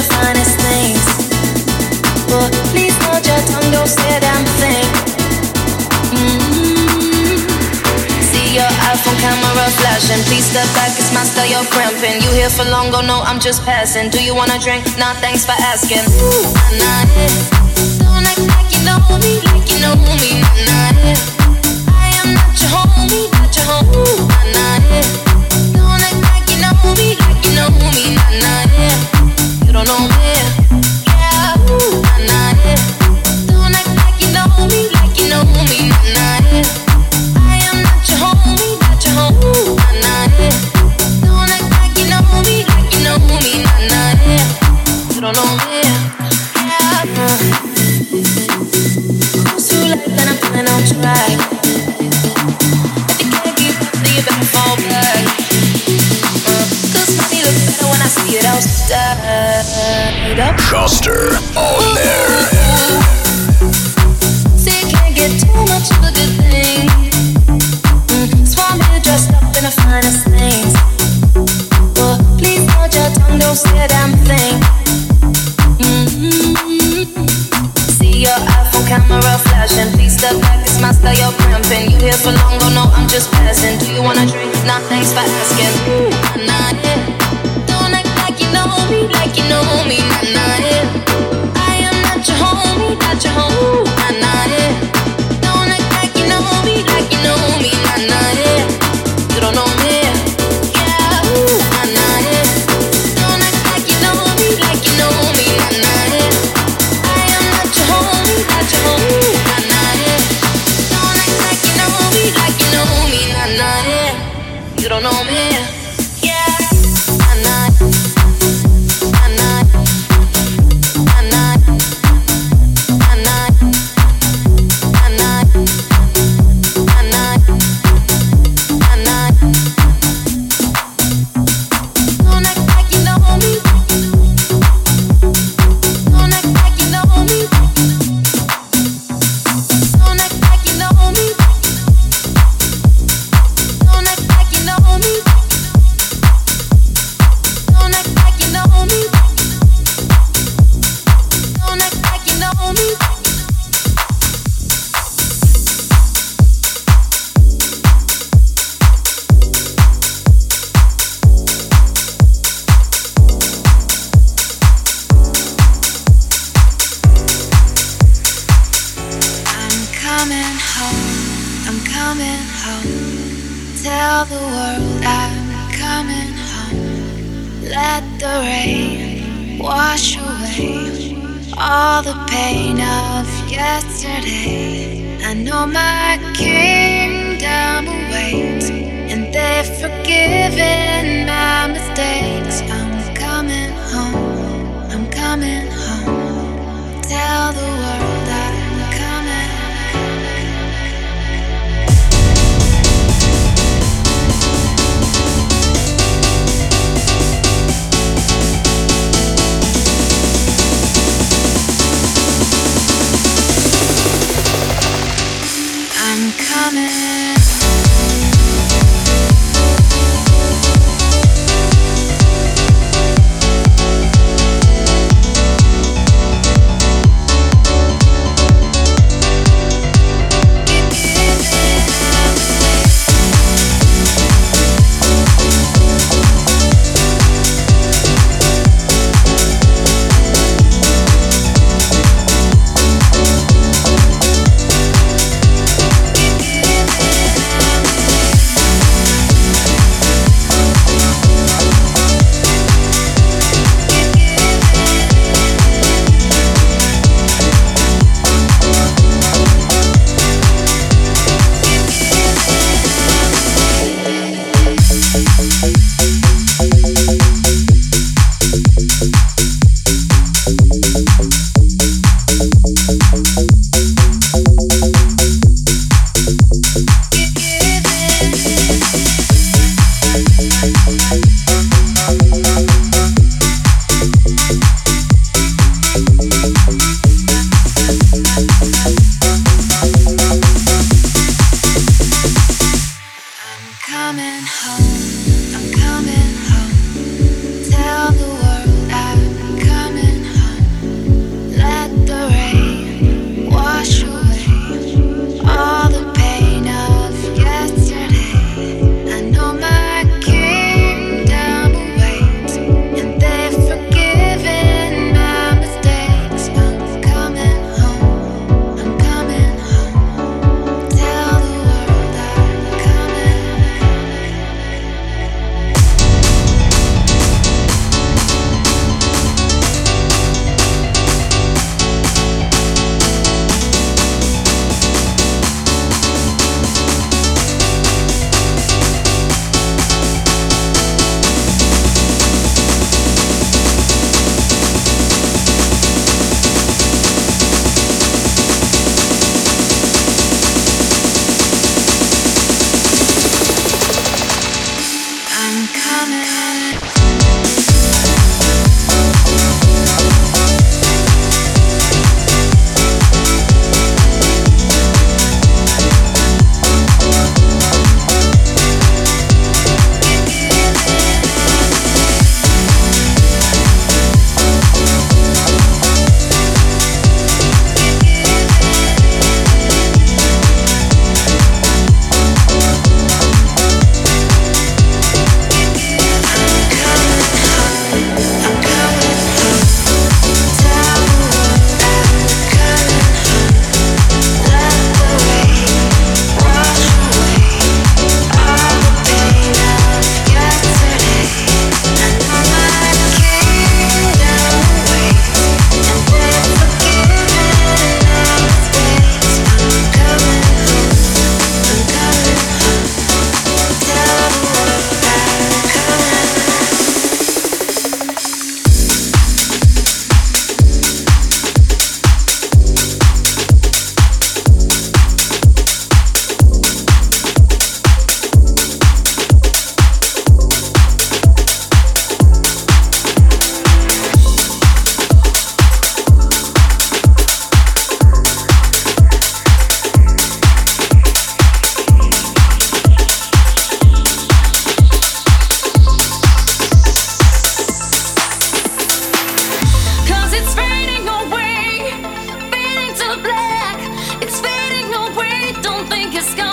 the finest things. But please hold your tongue, don't say a damn thing. See your iPhone camera flashing. Please step back, it's my style, you're cramping. You here for long, go no, I'm just passing. Do you wanna drink? Nah, thanks for asking. Nah, don't act like you know me, like you know me. Nah, I am not your homie, not your homie. Nah, don't act like you know me, like you know me. Nah, you don't know me. Yeah, nah, don't act like you know me, like you know me. Nah, I am not your homie, not your homie. Nah, don't act like you know me, like you know me. Nah, you don't know me. Yeah, cruise through life and I'm feeling on track. If you can't keep up, then you better fall back. 'Cause money looks better when I see it outside. Schuster on there. See, you can't get too much of a good thing. So I'm here dressed up in the finest things. But please hold your tongue, don't say a damn thing. See your iPhone camera flashing. Please step back, it's my style, you're cramping. You here for long, go no, I'm just passing. Do you wanna drink? Nah, thanks for asking. Nah, don't act like you know me, like you know me. Nah, I am not your homie, not your homie. Nah, don't act like you know me, like you know me. Nah, you don't know me. Yeah, nah, don't act like you know me, like you know me. Nah, I am not your homie, not your homie. Nah, don't act like you know me, like you know me. Nah, you don't know me. Yeah, nah,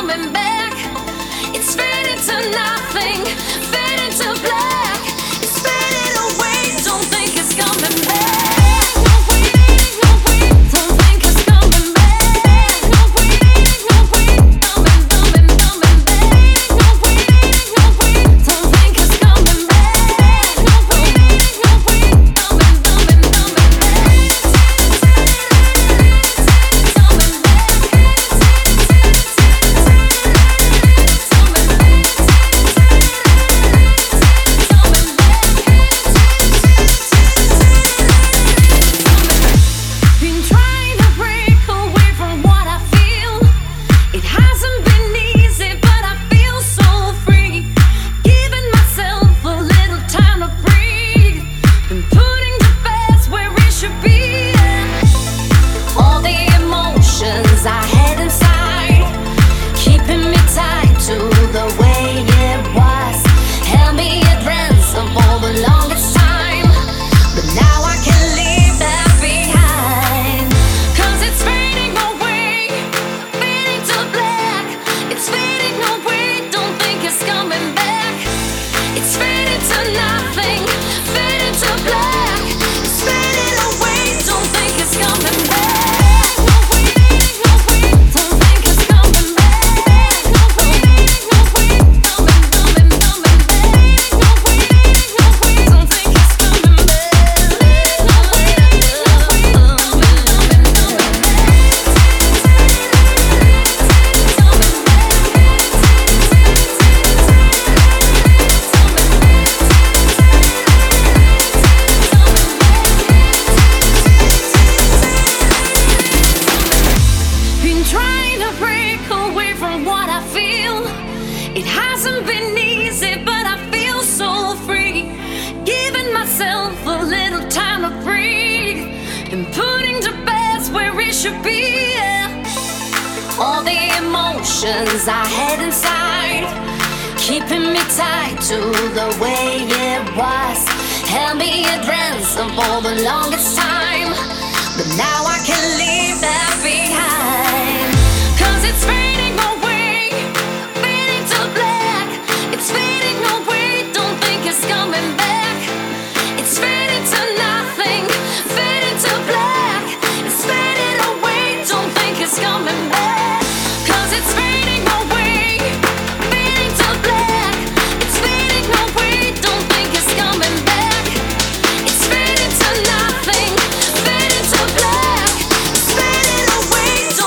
coming back. It's fading to nothing, fading to black. It's fading away, don't think it's coming back. No waiting, no wait, don't think it's coming back. No waiting, no wait, coming back. No waiting, no wait, don't think it's coming back. No waiting, no wait, coming back. Been trying to break away from what I feel. It hasn't been easy, but I feel so free. Giving myself a little time to breathe. Been putting the best where it should be. All the emotions I had inside, keeping me tied to the way it was. Held me at ransom for the longest time, but now I can leave that behind. 'Cause it's fading away, fading to black. It's fading away, don't think it's coming back. It's fading to nothing, fading to black. It's fading away, don't think it's coming back. No waiting, no wait, don't think it's coming back. No waiting, no wait, coming back. No waiting, no wait, don't think it's coming back. No waiting, no wait, Been trying to break away from what I feel. It hasn't been easy, but I feel so free. Giving myself a little time to breathe, and putting the best where it should be. All the emotions I had inside, keeping me tied to the way it was. Held me at ransom for the longest time, but now I can leave that behind. 'Cause it's fading away, fading to black. It's fading away, don't think it's coming back. It's fading to nothing, fading to black. It's fading away, don't think it's coming back. 'Cause it's fading away, fading to black. It's fading away, don't think it's coming back. It's fading to nothing, fading to black. It's fading away,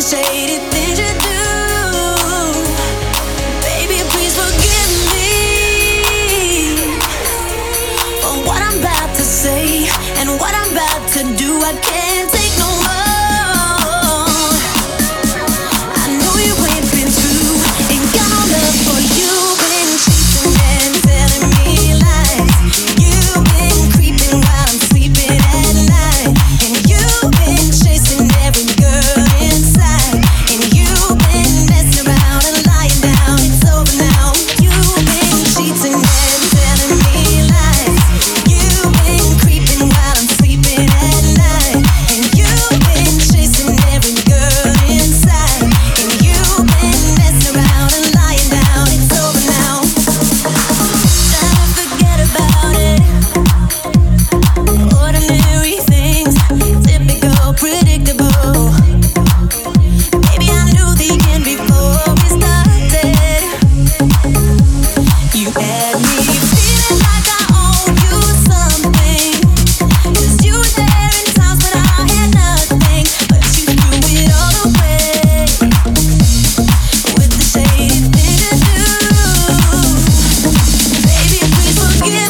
shady things you do. Baby, please forgive me for what I'm about to say and what I'm about to do. I can't take no more. I know you ain't been through, ain't got no love for you. Been chasing and telling me lies. You've been creeping while I'm sleeping at night, and you've been chasing every girl inside, and you've been messing around and lying down. It's over now. You've been cheating and telling me lies. You've been creeping while I'm sleeping at night, and you've been chasing every girl inside, and you've been messing around and lying down. It's over now. Try to forget about it. Ordinary things, typical, predictable. Baby, I knew the end before we started. You had me feeling like I owe you something, 'cause you were there in times when I had nothing, but you threw it all away with the shady thing to do. Baby, please forgive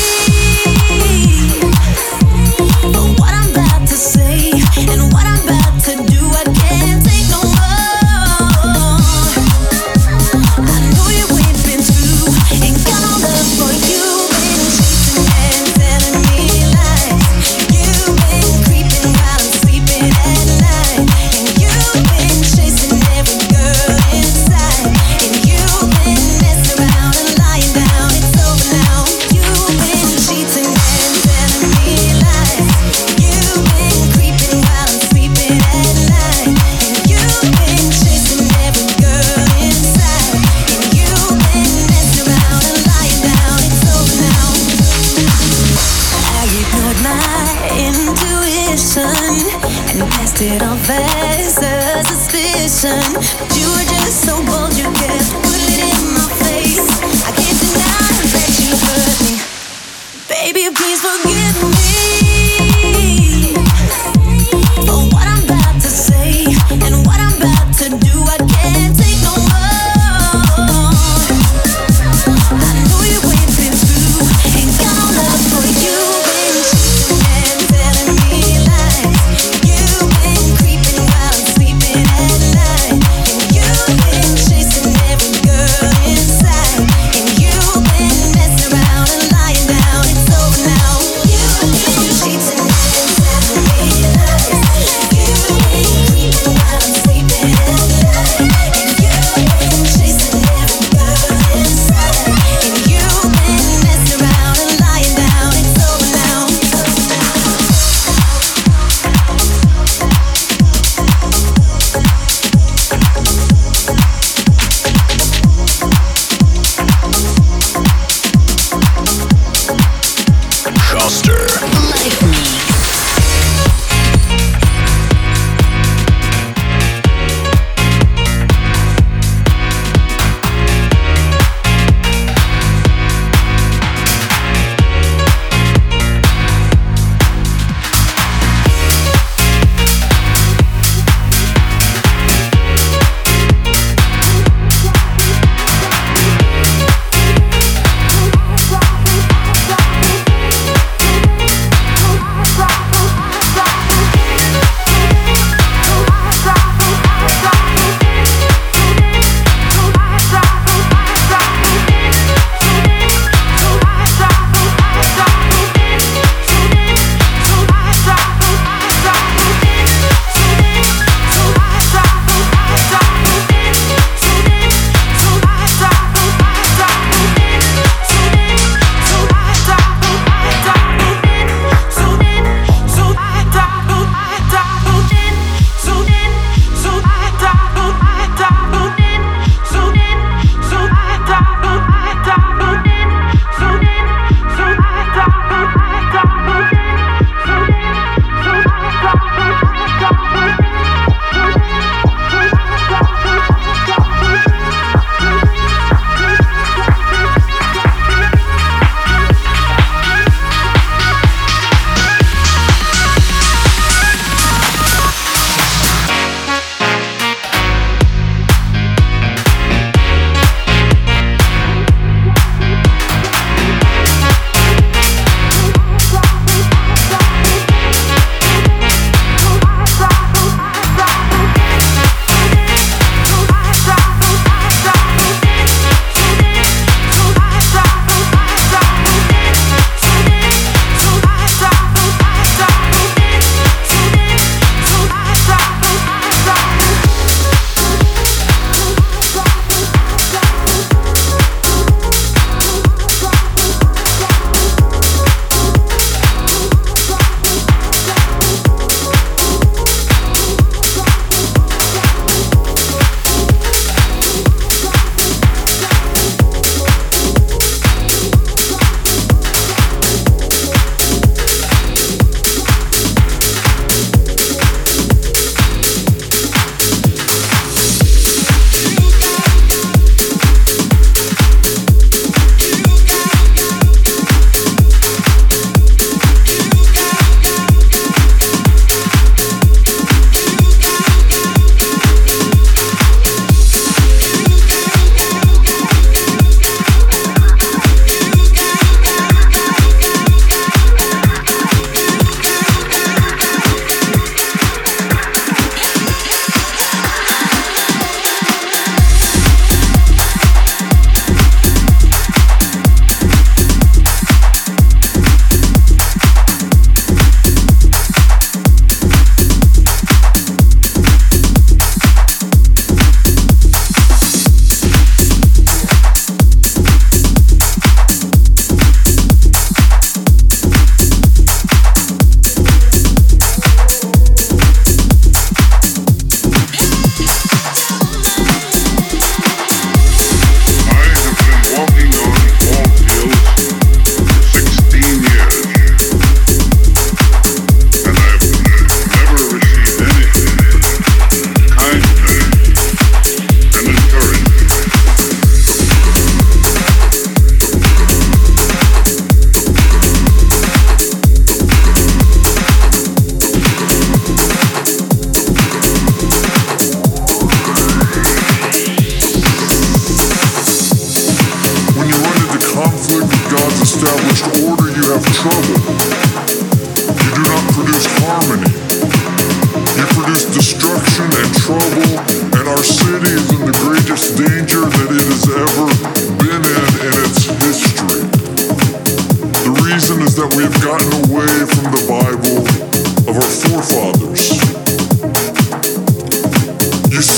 me for what I'm about to say and what I'm about to do. I can't take no more. I know you ain't been through, ain't got no love for you. Been chasing and telling me lies. You've been creeping while I'm sleeping at night, and you've been chasing every girl inside, and you've been messing around and lying down. It's over now. You've been cheating and telling me lies. You've been creeping while I'm sleeping at night, and you've been chasing every girl inside, and you've been messing around and lying down. It's over now. I ignored my intuition and passed it off as a suspicion, but you were just so bold, you kept putting it in my face. I can't deny that you hurt me. Baby, please forgive me for what I'm about to say and what I'm about to do. I can't take no more. I know you ain't been through, ain't got no love for you. Been cheating and telling me lies. You've been creeping while I'm sleeping at night, and you've been chasing every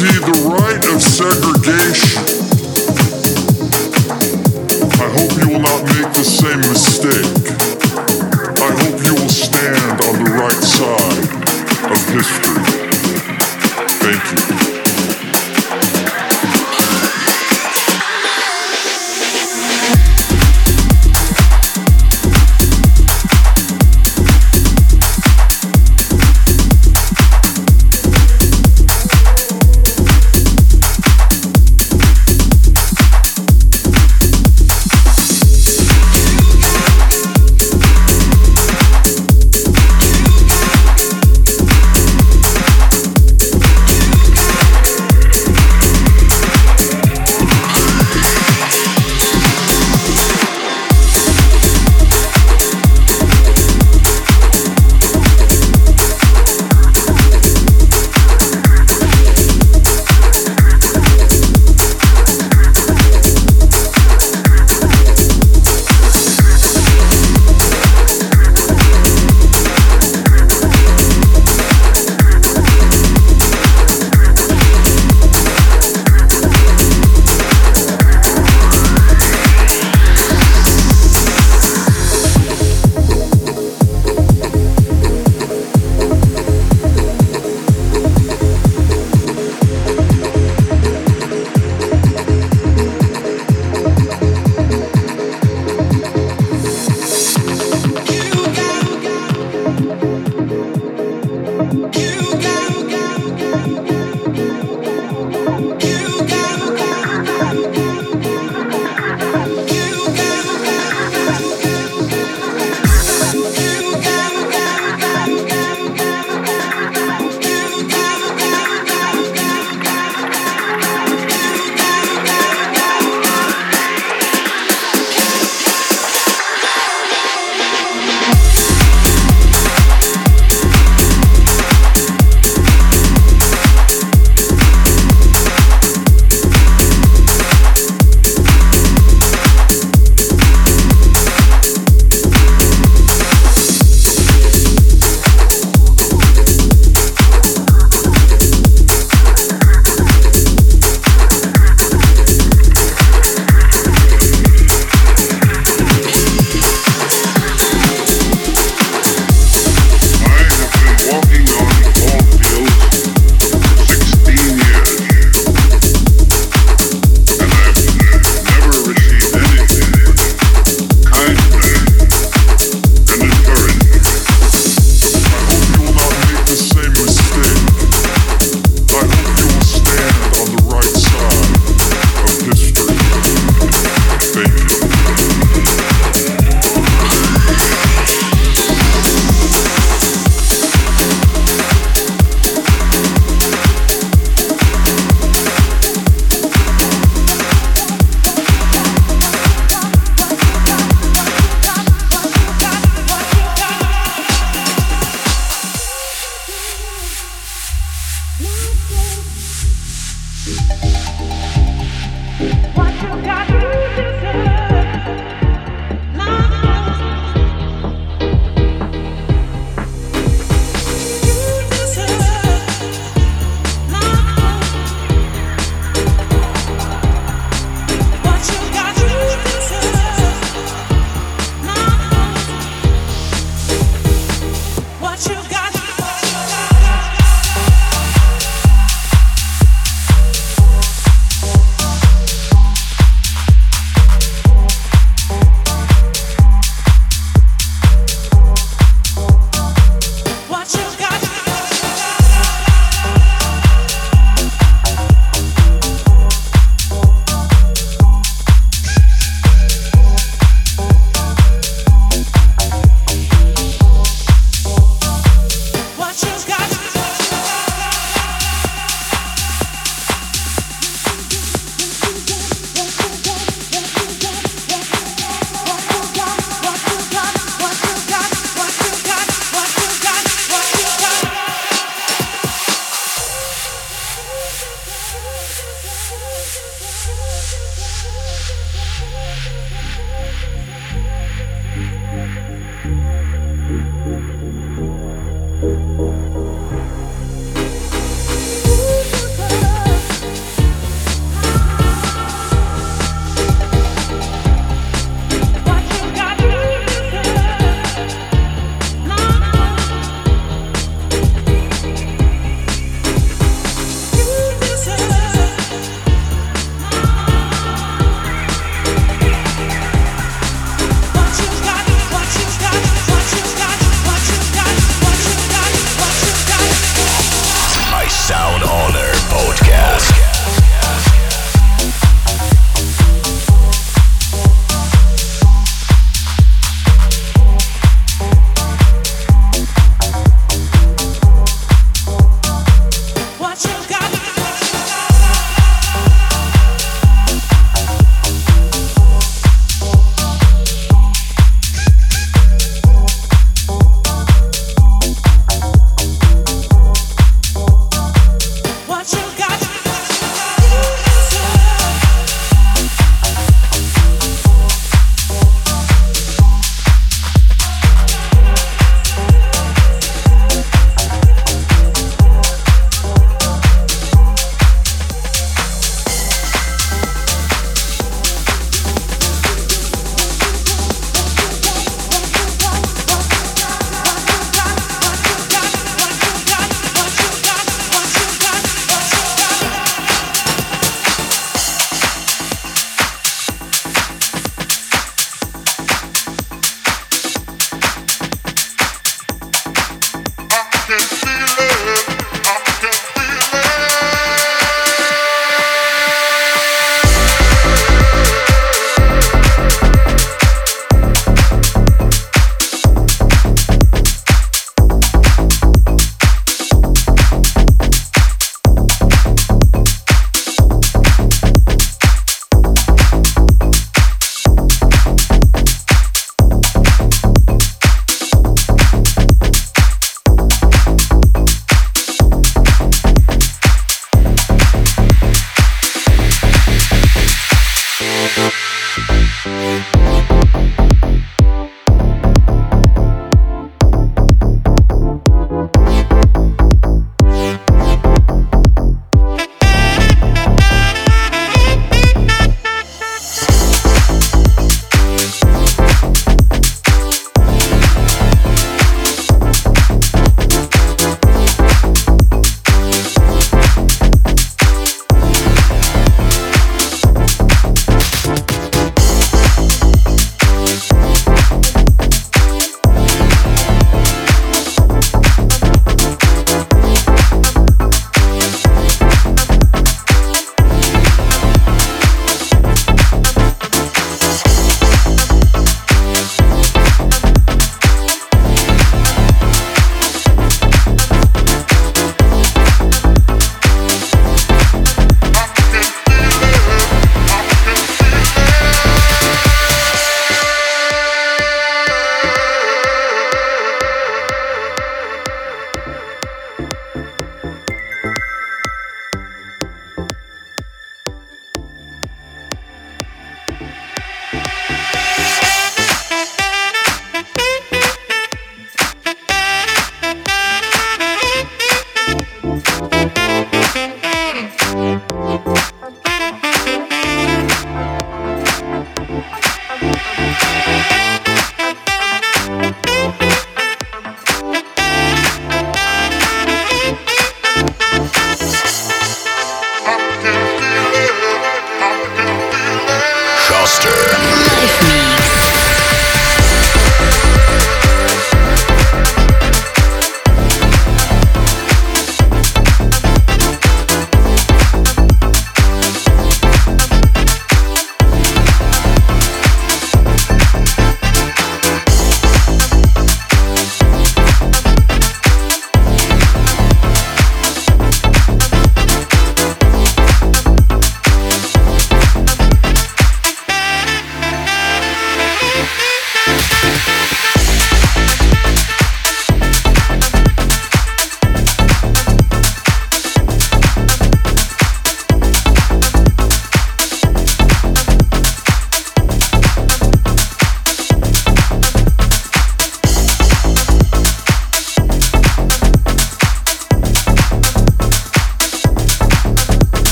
See, the right of segregation. I hope you will not make the same mistake. I hope you will stand on the right side of history. Thank you.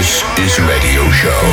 This is Radio Show.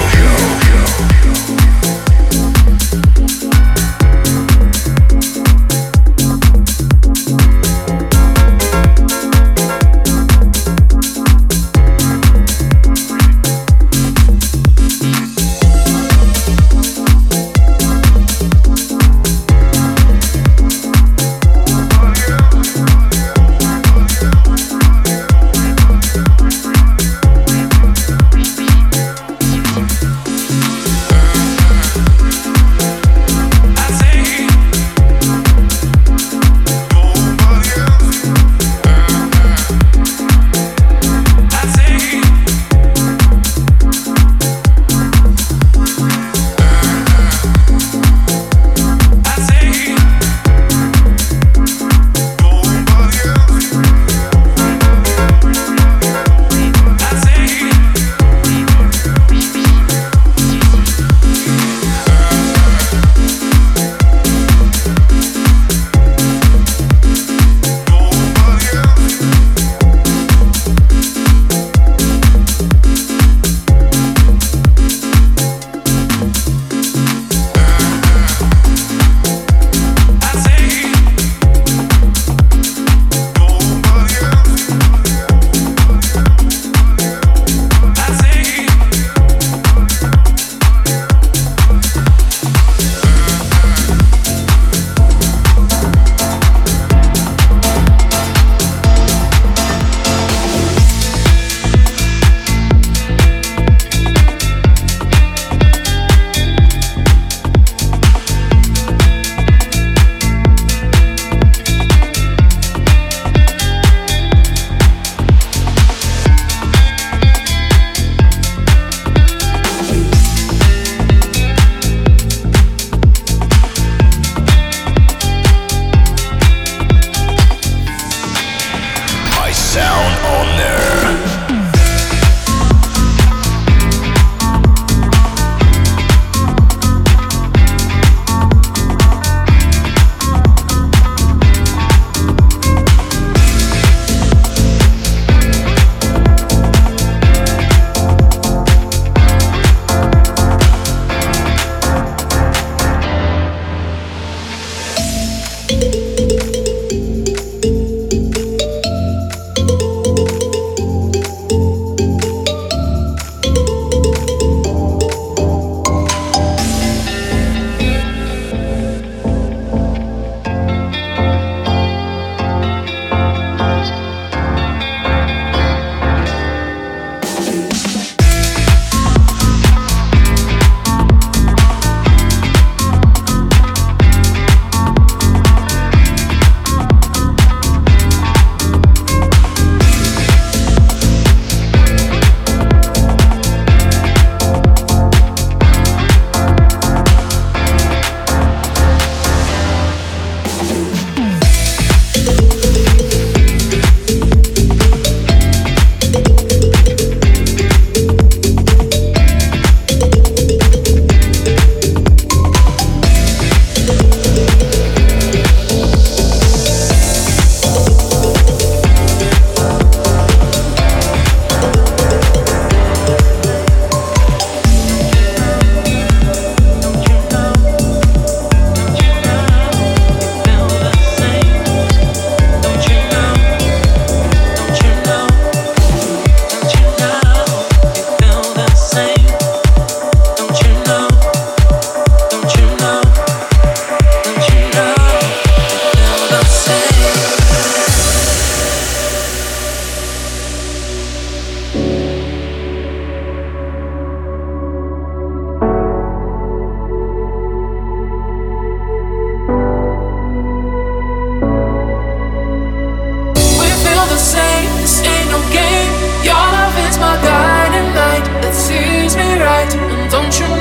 Don't you